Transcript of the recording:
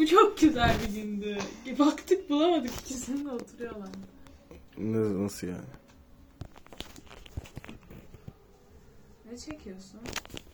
Bu çok güzel bir gündü. Baktık bulamadık, ikisini de oturuyorlar. Nasıl yani? Ne çekiyorsun?